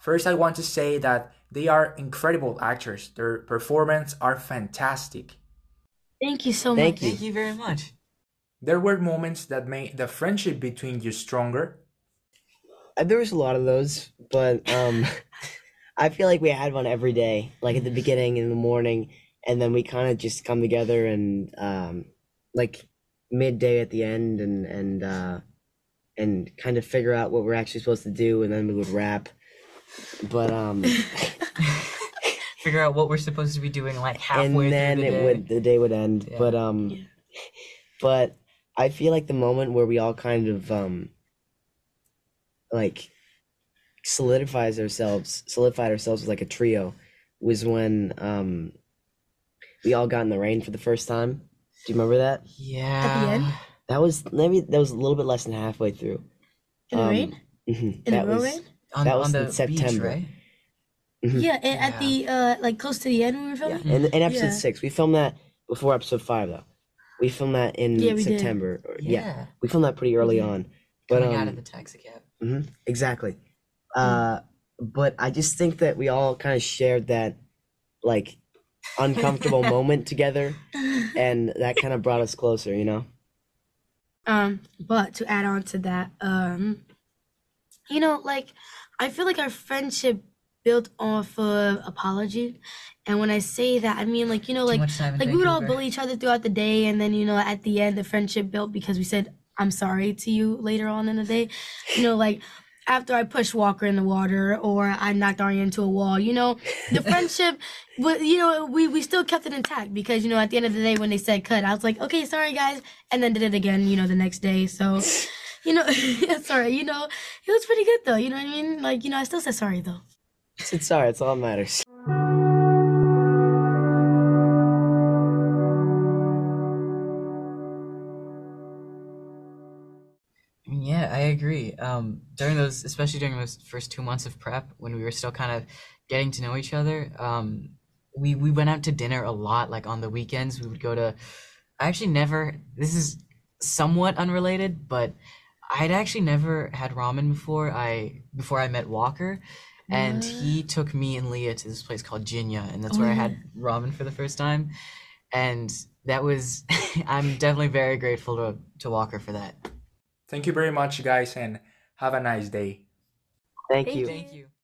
First, I want to say that they are incredible actors. Their performances are fantastic. Thank you so Thank much. you. Thank you very much. There were moments that made the friendship between you stronger. There was a lot of those, but I feel like we had one every day, like at the beginning in the morning, and then we kind of just come together and like midday at the end, and kind of figure out what we're actually supposed to do, and then we would rap. But Figure out what we're supposed to be doing like and halfway then through the it day. would the day would end. Yeah. But Yeah. but I feel like the moment where we all kind of like solidified ourselves as like a trio was when we all got in the rain for the first time. Do you remember that? Yeah. end? That was a little bit less than halfway through. In the rain? Mhm, In that the real was rain? that was On in the September. beach, right? Yeah, and at the like close to the end when we were Yeah, filming. in episode Yeah. 6. We filmed that before episode 5 though. We filmed that in Yeah, we did. September. Yeah. We filmed that pretty early on. But Coming out of the taxi cab. exactly. But I just think that we all kind of shared that like uncomfortable moment together, and that kind of brought us closer, you know? But to add on to that, you know, like I feel like our friendship built off of apology. And when I say that, I mean like, you know, Too like much time in we would all Vancouver. bully each other throughout the day, and then, you know, at the end the friendship built because we said I'm sorry to you later on in the day. You know, like after I pushed Walker in the water or I knocked Arya into a wall, you know, the friendship, but you know, we still kept it intact because, you know, at the end of the day when they said cut, I was like, okay, sorry guys, and then did it again, you know, the next day. So, you know, sorry, you know, it was pretty good though. You know what I mean? Like, you know, I still said sorry though. It's sorry, it's all that matters. I mean, yeah, I agree. During those, especially during those first 2 months of prep, when we were still kind of getting to know each other, we went out to dinner a lot. Like on the weekends, we would go to. I actually never. This is somewhat unrelated, but I'd actually never had ramen before I met Walker, and he took me and Leah to this place called Jinya, and that's where I had ramen for the first time, and that was. I'm definitely very grateful to Walker for that. Thank you very much, guys, and have a nice day. Thank you. Thank you.